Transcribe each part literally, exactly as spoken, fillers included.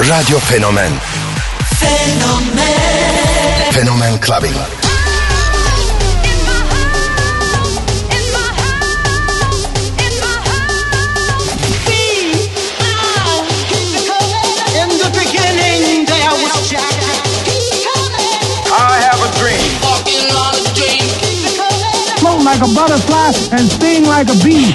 Radio Fenomen. Fenomen. Fenomen Clubbing. Like a butterfly and sting like a bee.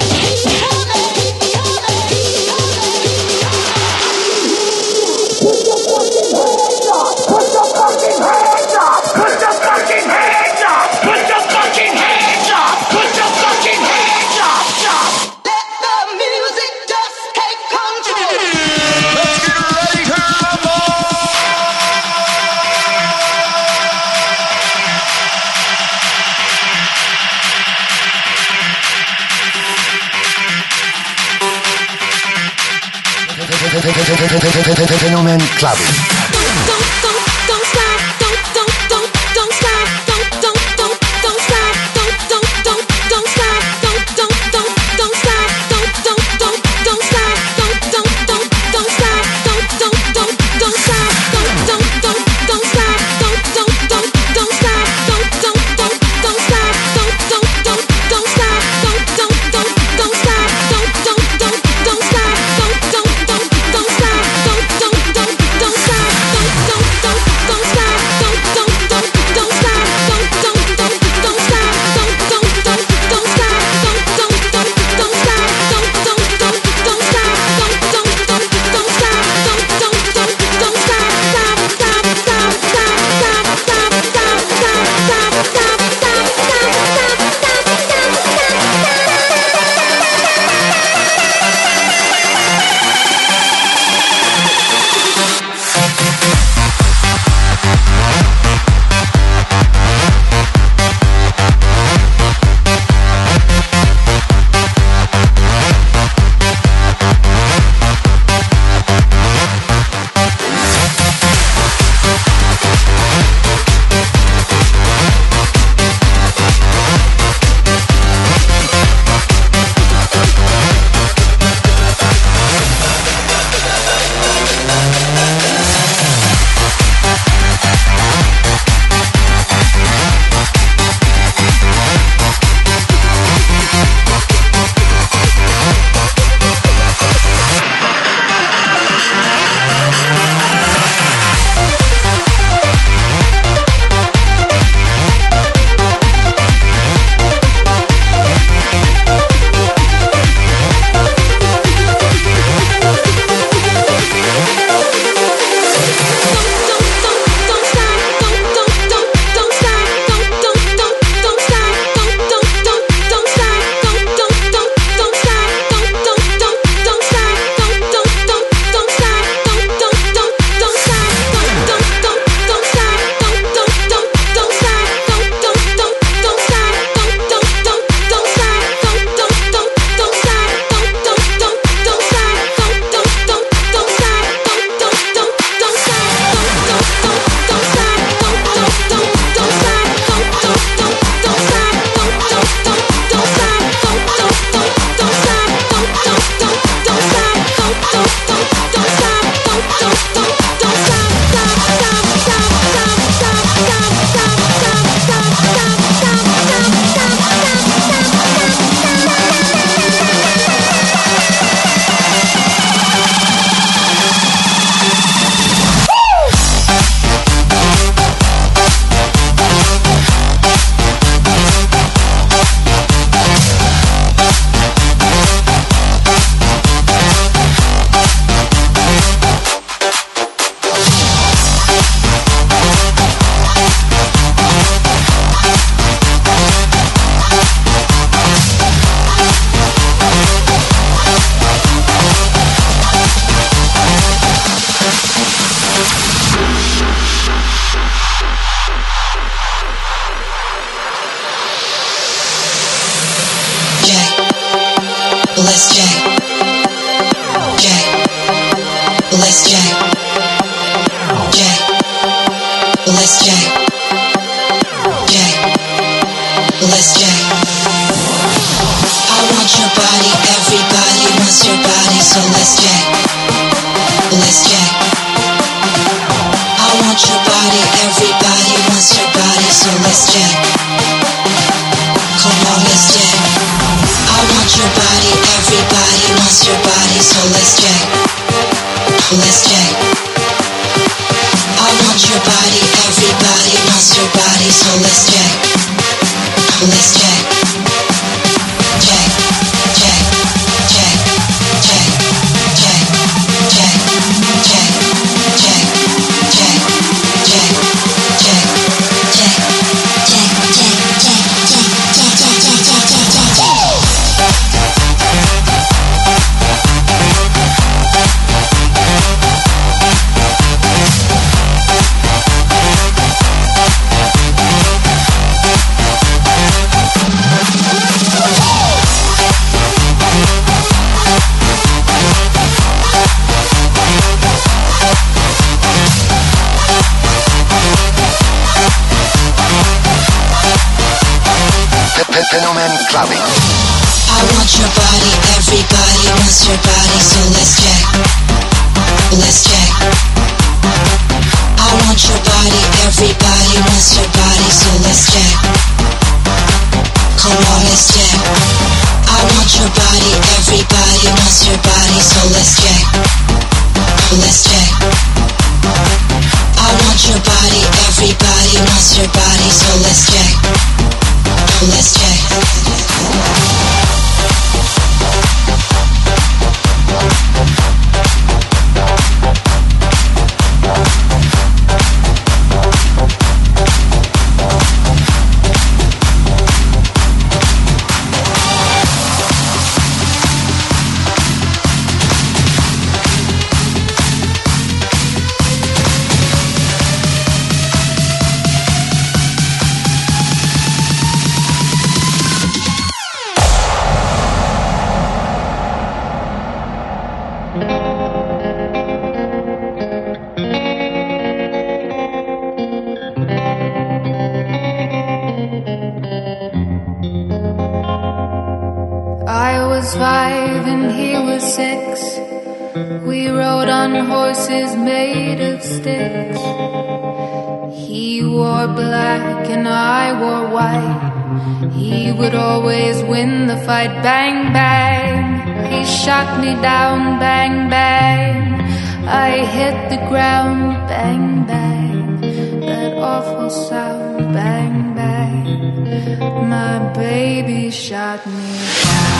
Fenomen Clubbing. Everybody wants your body, so let's jack. Let's jack. body, everybody wants your body, so let's jack. Come on, let's jack. I want your body, everybody wants your body, so let's jack. Let's jack. I want your body, everybody wants your body, so let's jack. Let's jack. Jack, jack, jack, jack, jack, jack, jack, jack, jack, jack, jack, jack, Fenomen Clubbing. I want your body, everybody wants your body, so let's jack. Let's jack. I want your body, everybody wants your body, so let's jack. Come on, let's jack. I want your body, everybody wants your body, so let's jack. Let's jack. I want your body, everybody wants your body, so let's jack. Let's check. Five and he was six. We rode on horses made of sticks. He wore black and I wore white. He would always win the fight. Bang, bang. He shot me down. Bang, bang. I hit the ground. Bang, bang. That awful sound. Bang, bang. My baby shot me down.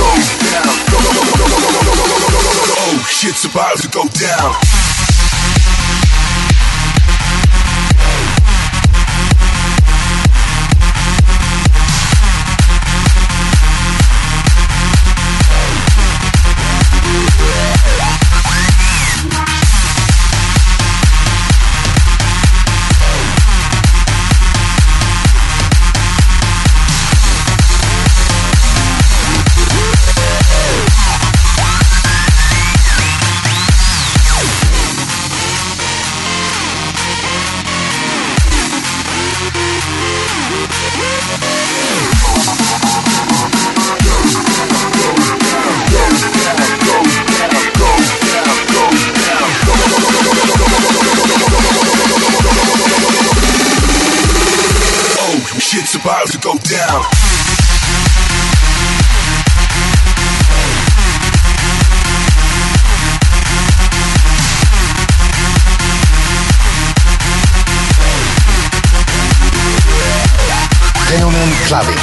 Shit's about to go down. clubbing.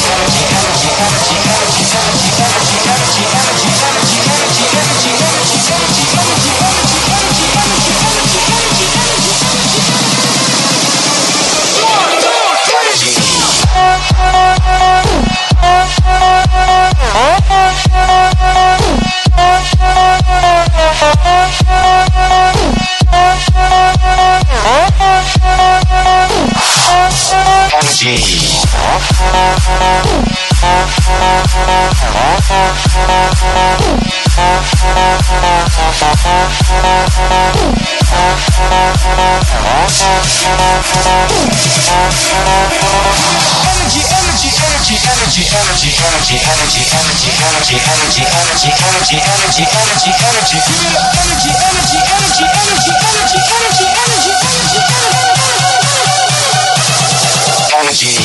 Energy, energy, energy, energy, energy, energy, energy, energy, energy, energy, energy, energy, energy, energy, energy, Energy. Energy, energy, energy, energy, energy, energy, energy, energy, energy, energy, energy, energy, energy, energy, energy. Give it up, energy, energy, energy, energy, energy, energy, energy, energy, energy.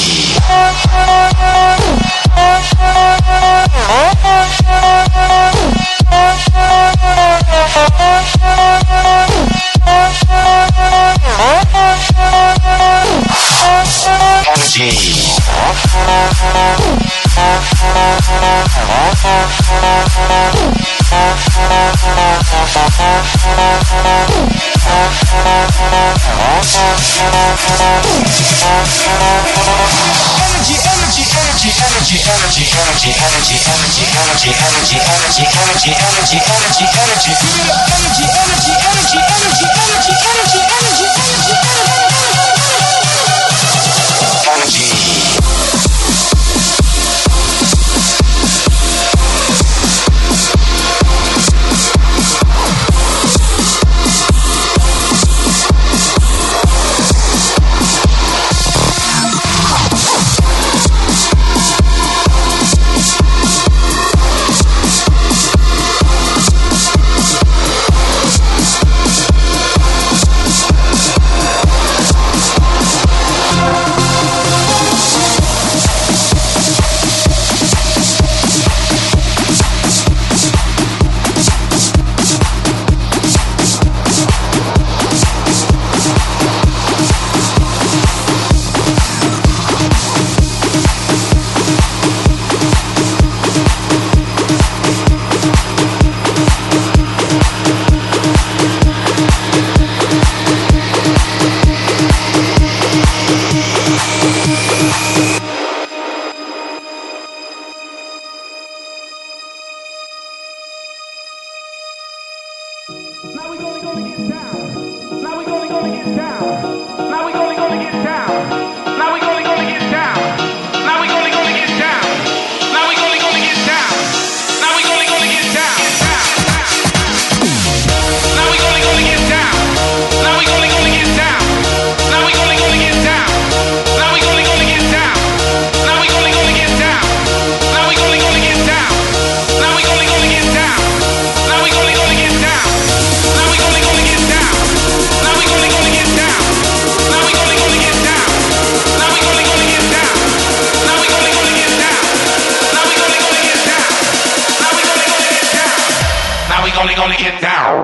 Only gonna get down.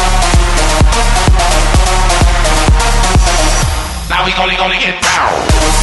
Now we only gonna get down.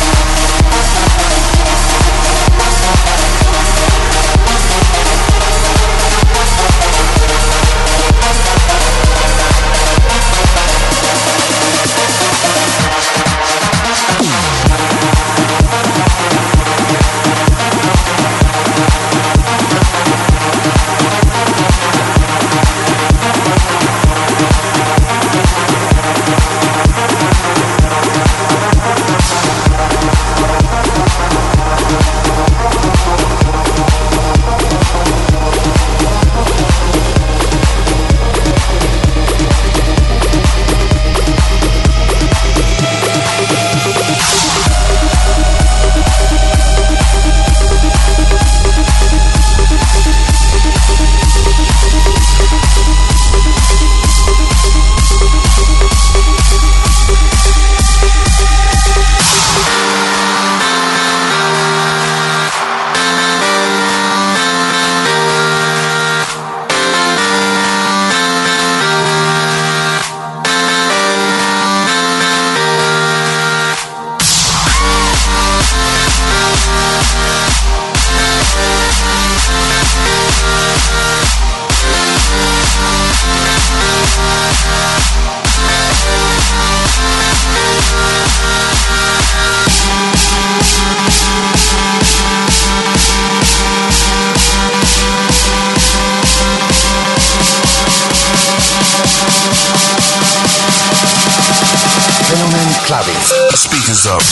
speakers up.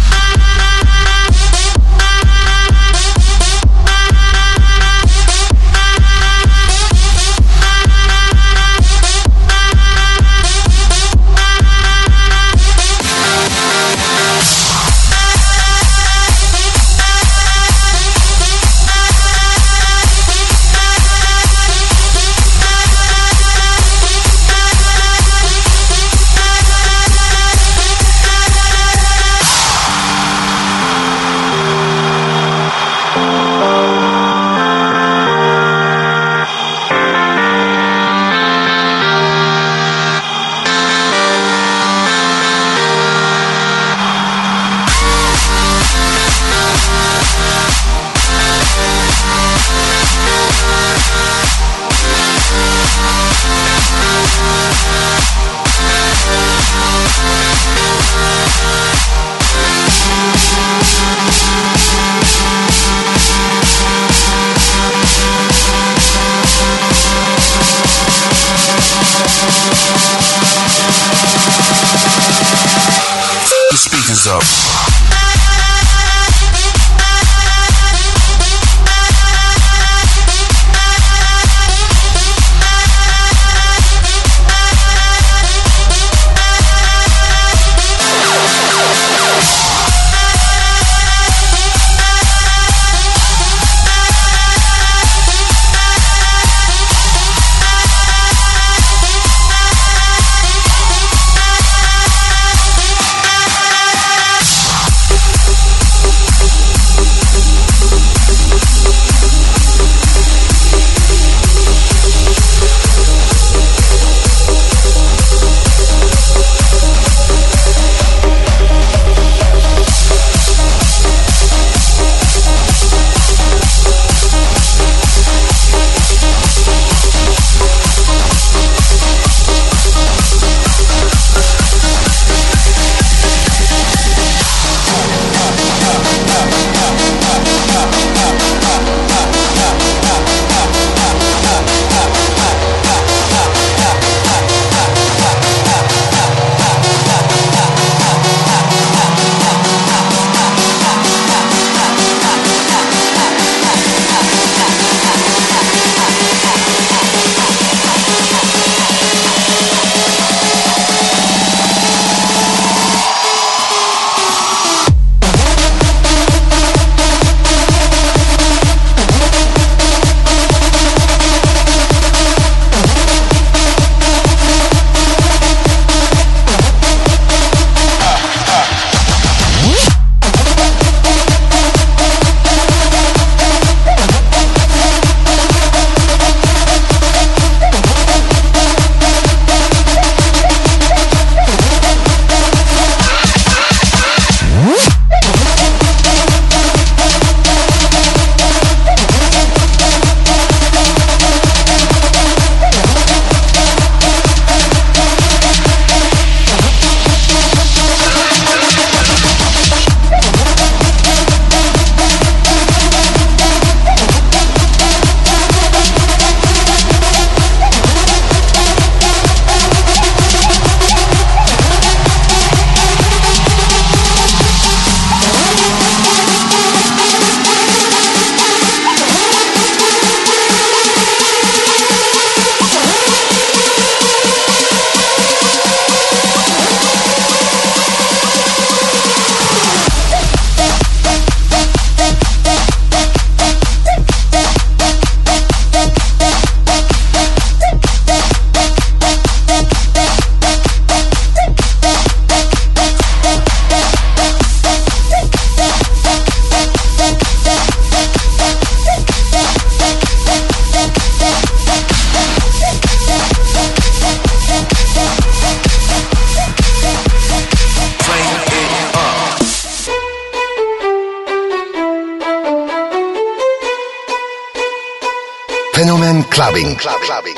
Up. Fenomen Clubbing. Club, clubbing.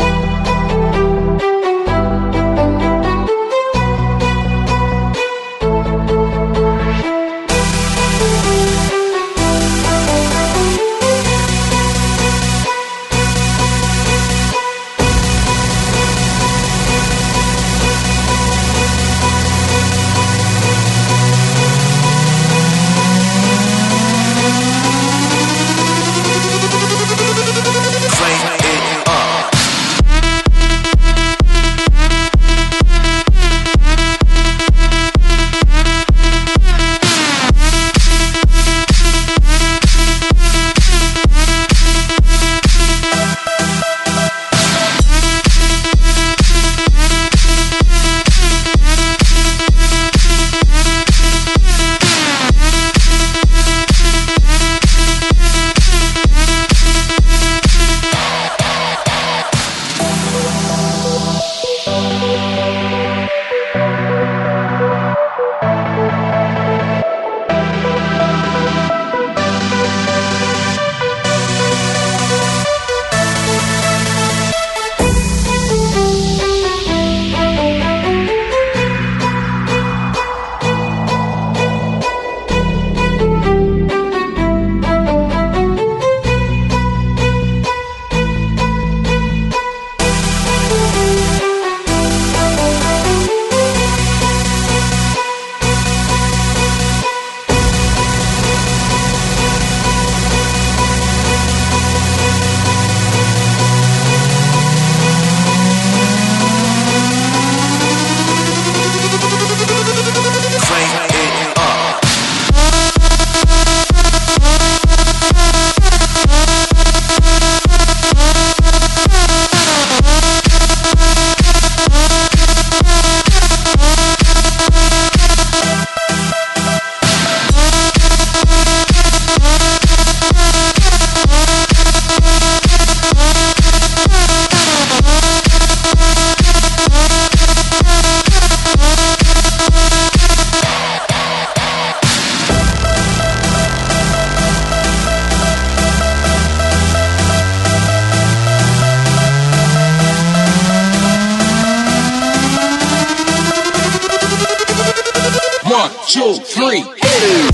two, three, hit it.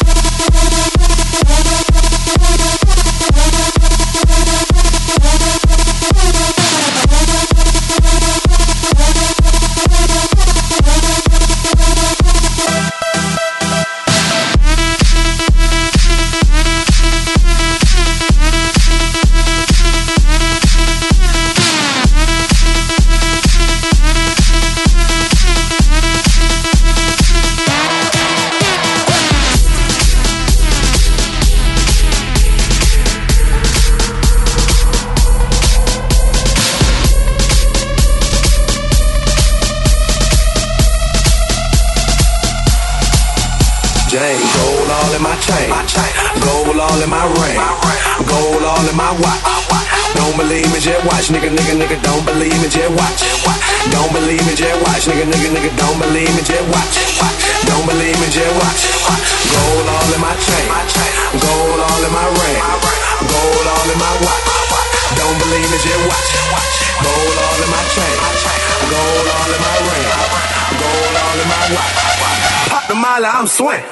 Gold all in my chain, gold all in my ring, gold all in my watch. Don't believe me, just watch, nigga, nigga, nigga. Don't believe me, just watch. Don't believe me, just watch, nigga, nigga, nigga. Don't believe me, just watch. Don't believe me, just watch. Gold all in my chain, gold all in my ring, gold all in my watch. Don't believe me, just watch. Gold all in my chain, gold all in my ring, gold all in my watch. Pop the mile, I'm swing.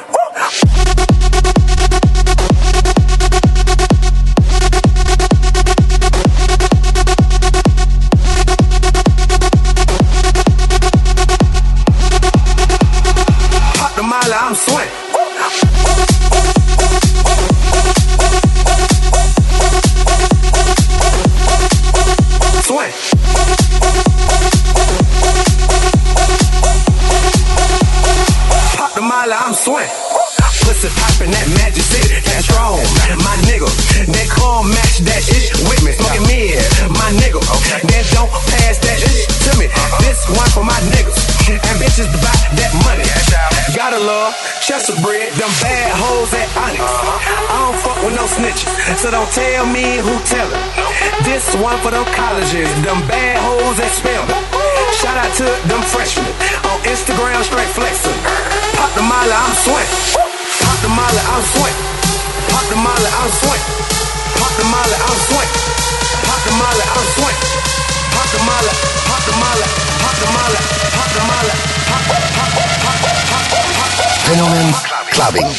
Pop the mile, I'm swing. Swing. Pop the mile, I'm swing. Pussy poppin' that magic city, that's strong. My nigga, they call match that ish with me. Smoking mid, my nigga. Then don't pass that ish to me. This one for my niggas. And bitches buy that money. Gotta love Chester bread, them bad hoes at Onyx. I don't fuck with no snitches, so don't tell me who tellin'. This one for them colleges, them bad hoes at Spelman. Shout out to them freshmen on Instagram, straight flexin'. Pop the mile, I'm swing. Pop the molly, I'm swing. Pop the molly, I'm swing. Pop the molly, I'm swing. Pop the molly, I'm swing. Pop the molly, pop the molly, pop the molly, pop the molly, pop, pop, pop, pop, pop, pop. Fenomen Clubbing.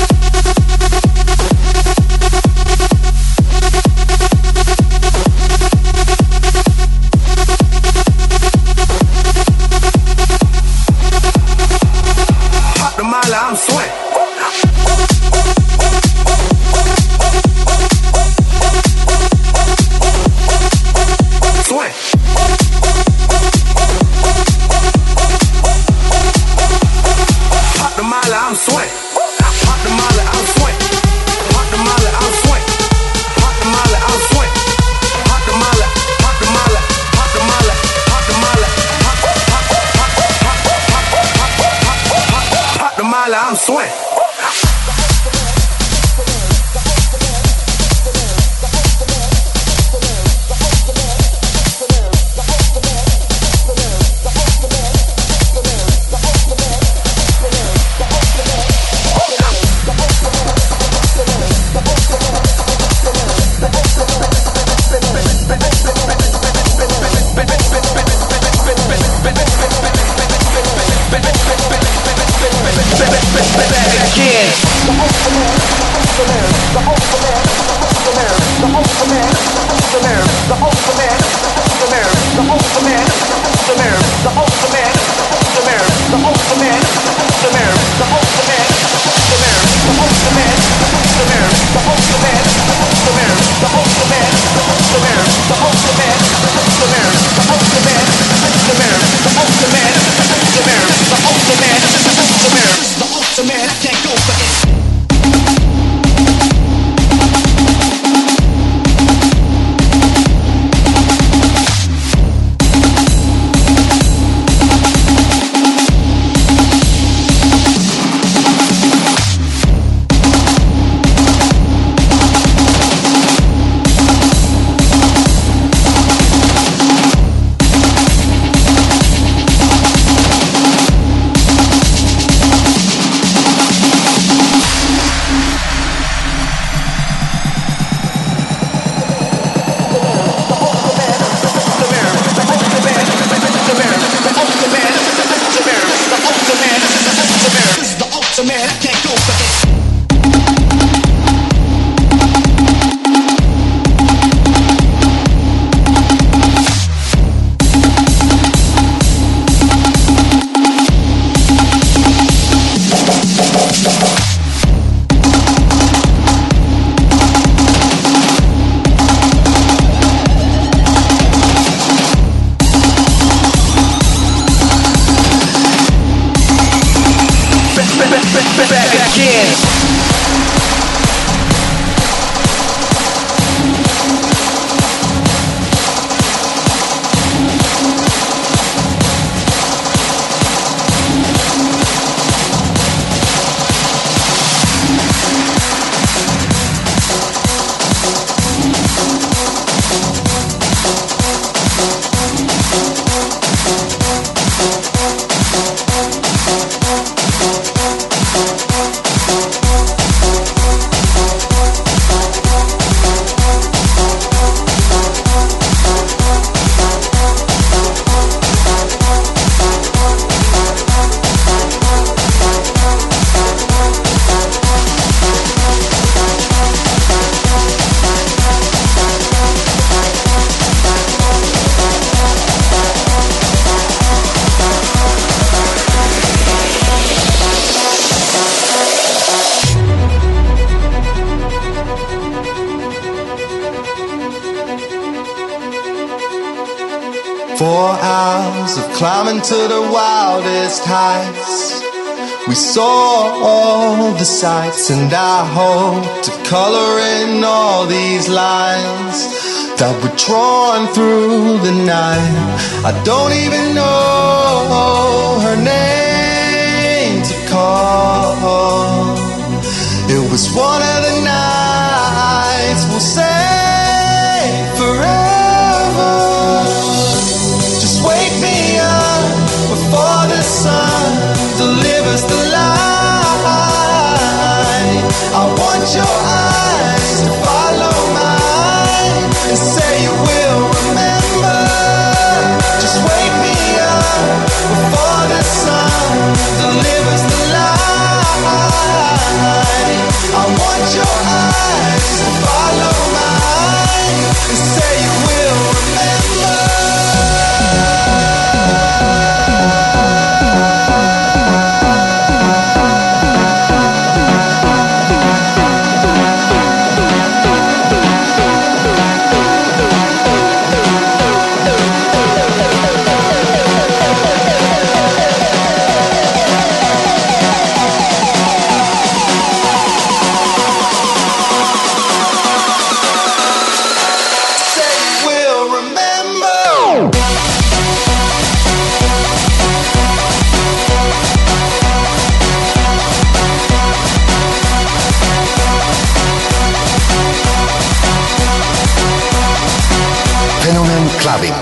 Pop the molly, I'm swing. I'm swing. Pop the molly, I'm swing. Pop the molly, I'm swing. Pop the molly, I'm swing. Pop the molly, pop the molly, pop the molly, pop the molly, pop pop pop pop pop pop pop pop the molly, I'm swing. again. Four hours of climbing to the wildest heights. We saw all the sights, and I hope to color in all these lines that were drawn through the night. I don't even know her name to call. It was one of the nights we'll say forever. Wake me up before the sun delivers the light. I want your eyes to follow mine and say you will remember. Just wake me up before the sun delivers the light. I want your eyes to follow mine and say you will remember. Fenomen Clubbing.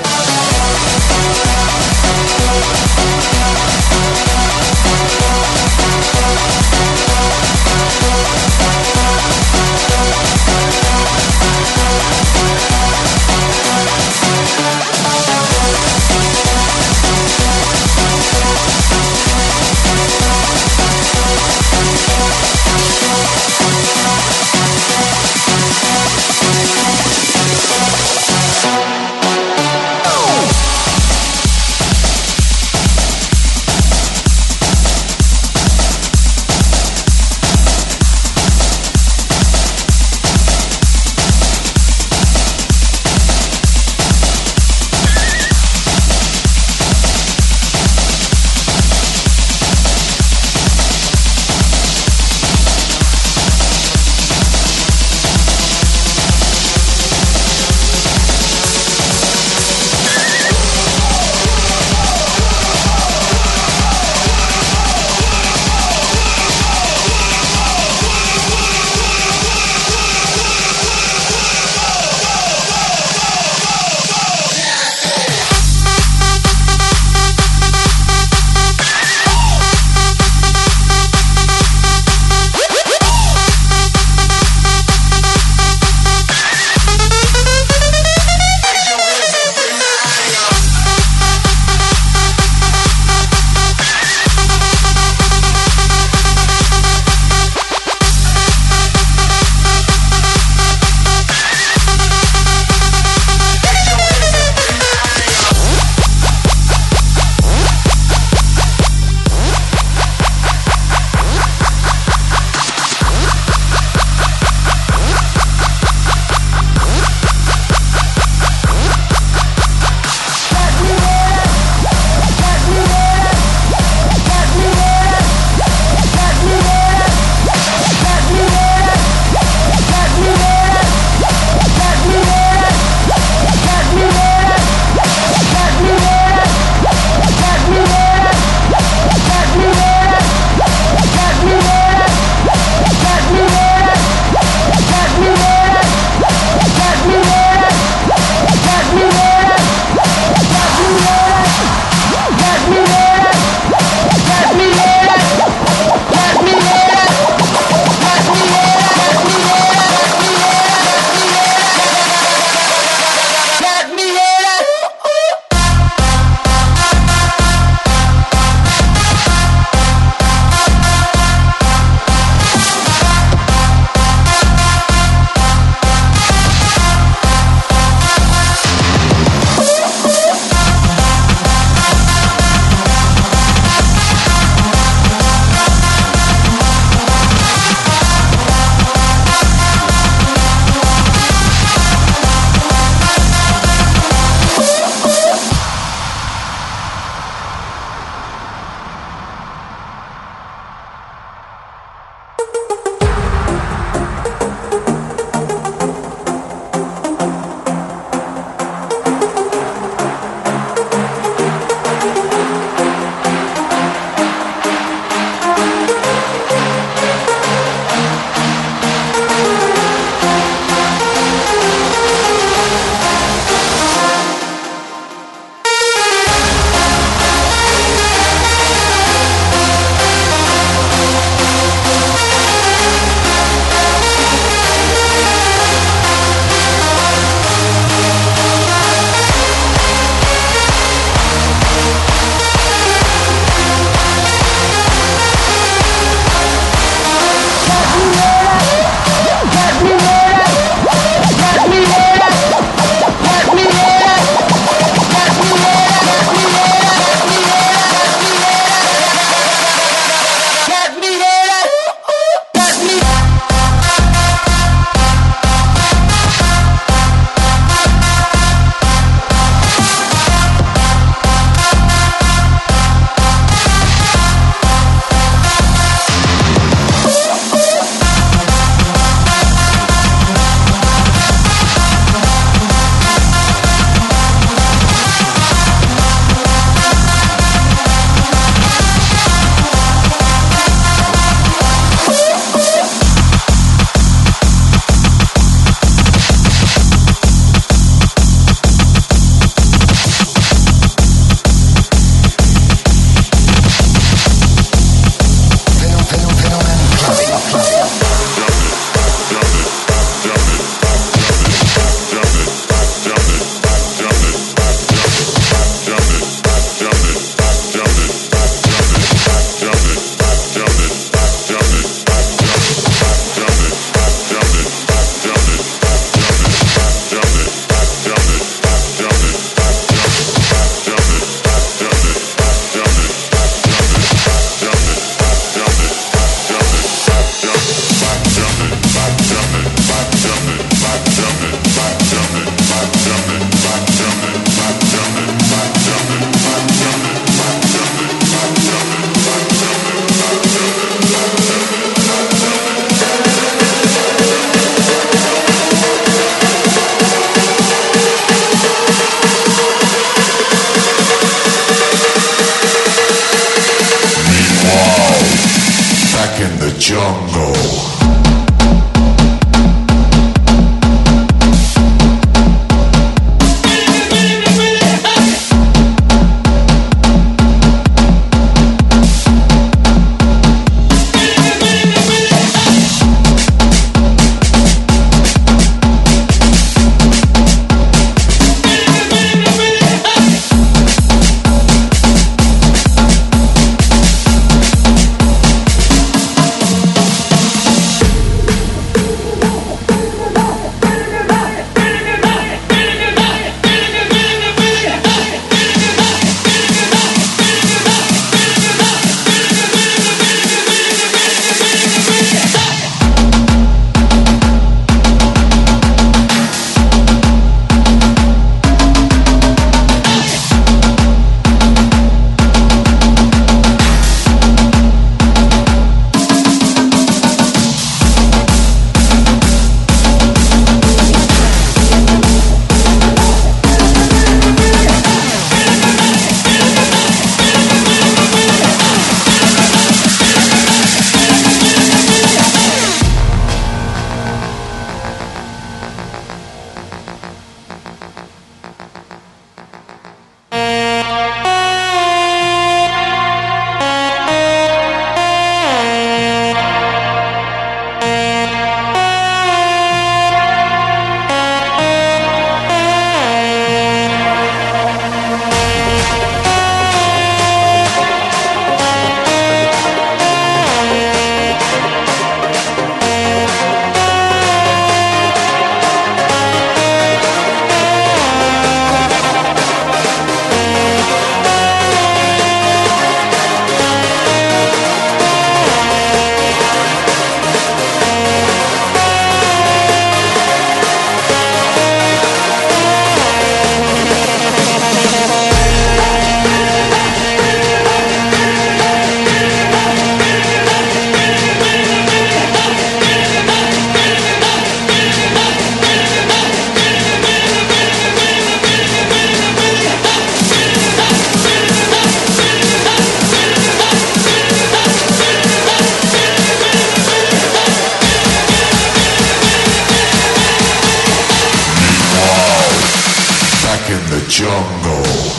in the jungle.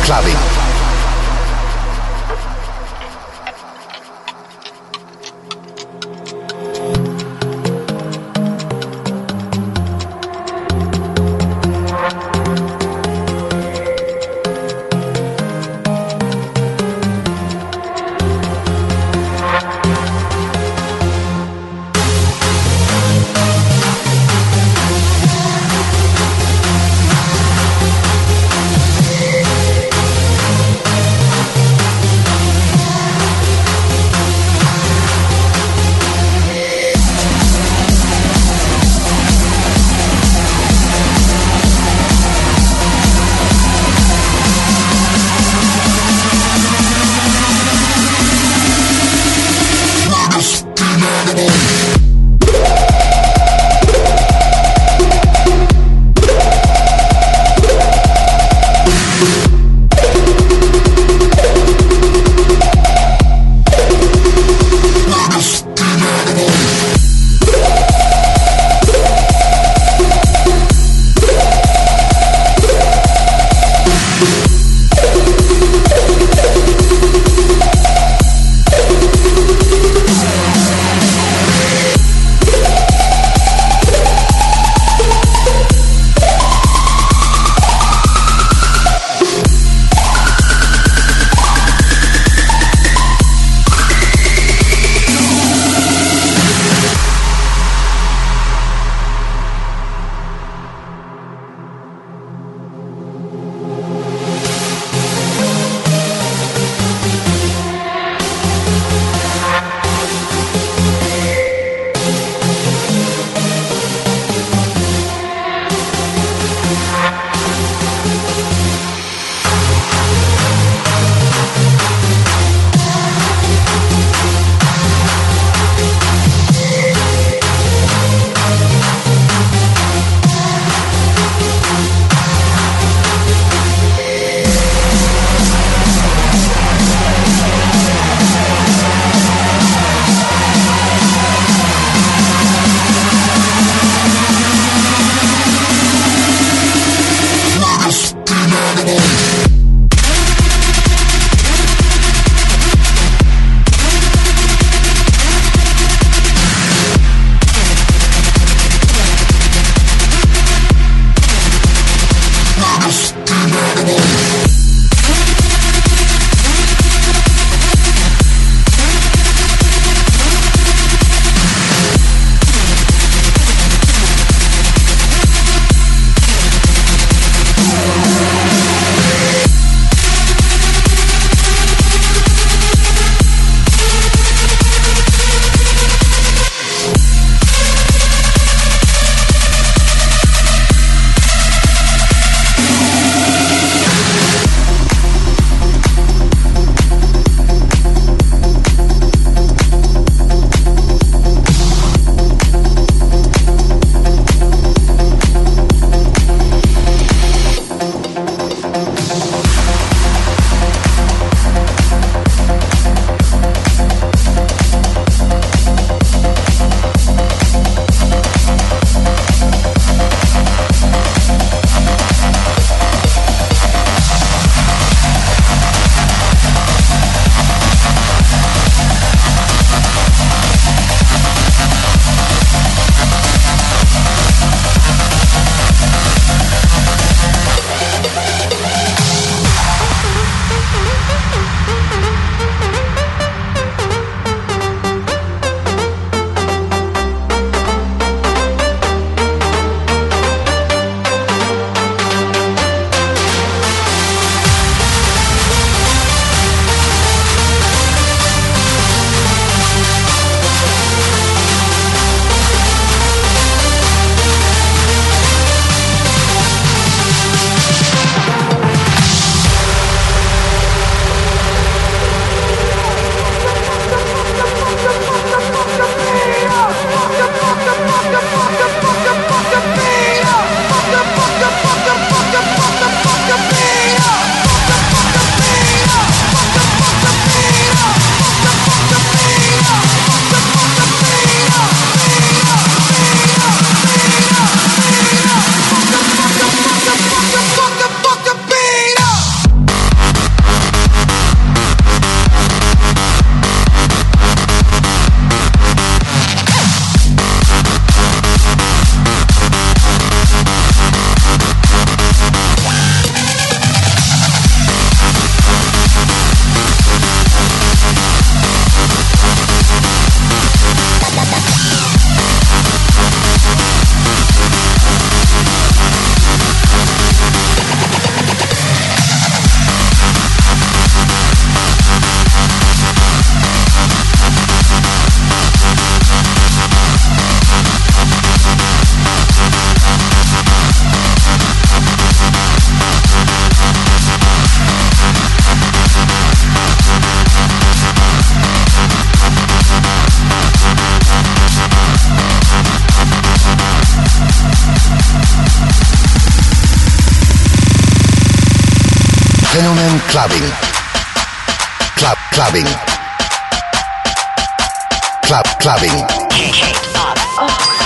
Clubbing. Fenomen Clubbing. Club Clubbing. Club Clubbing. K K up. Oh.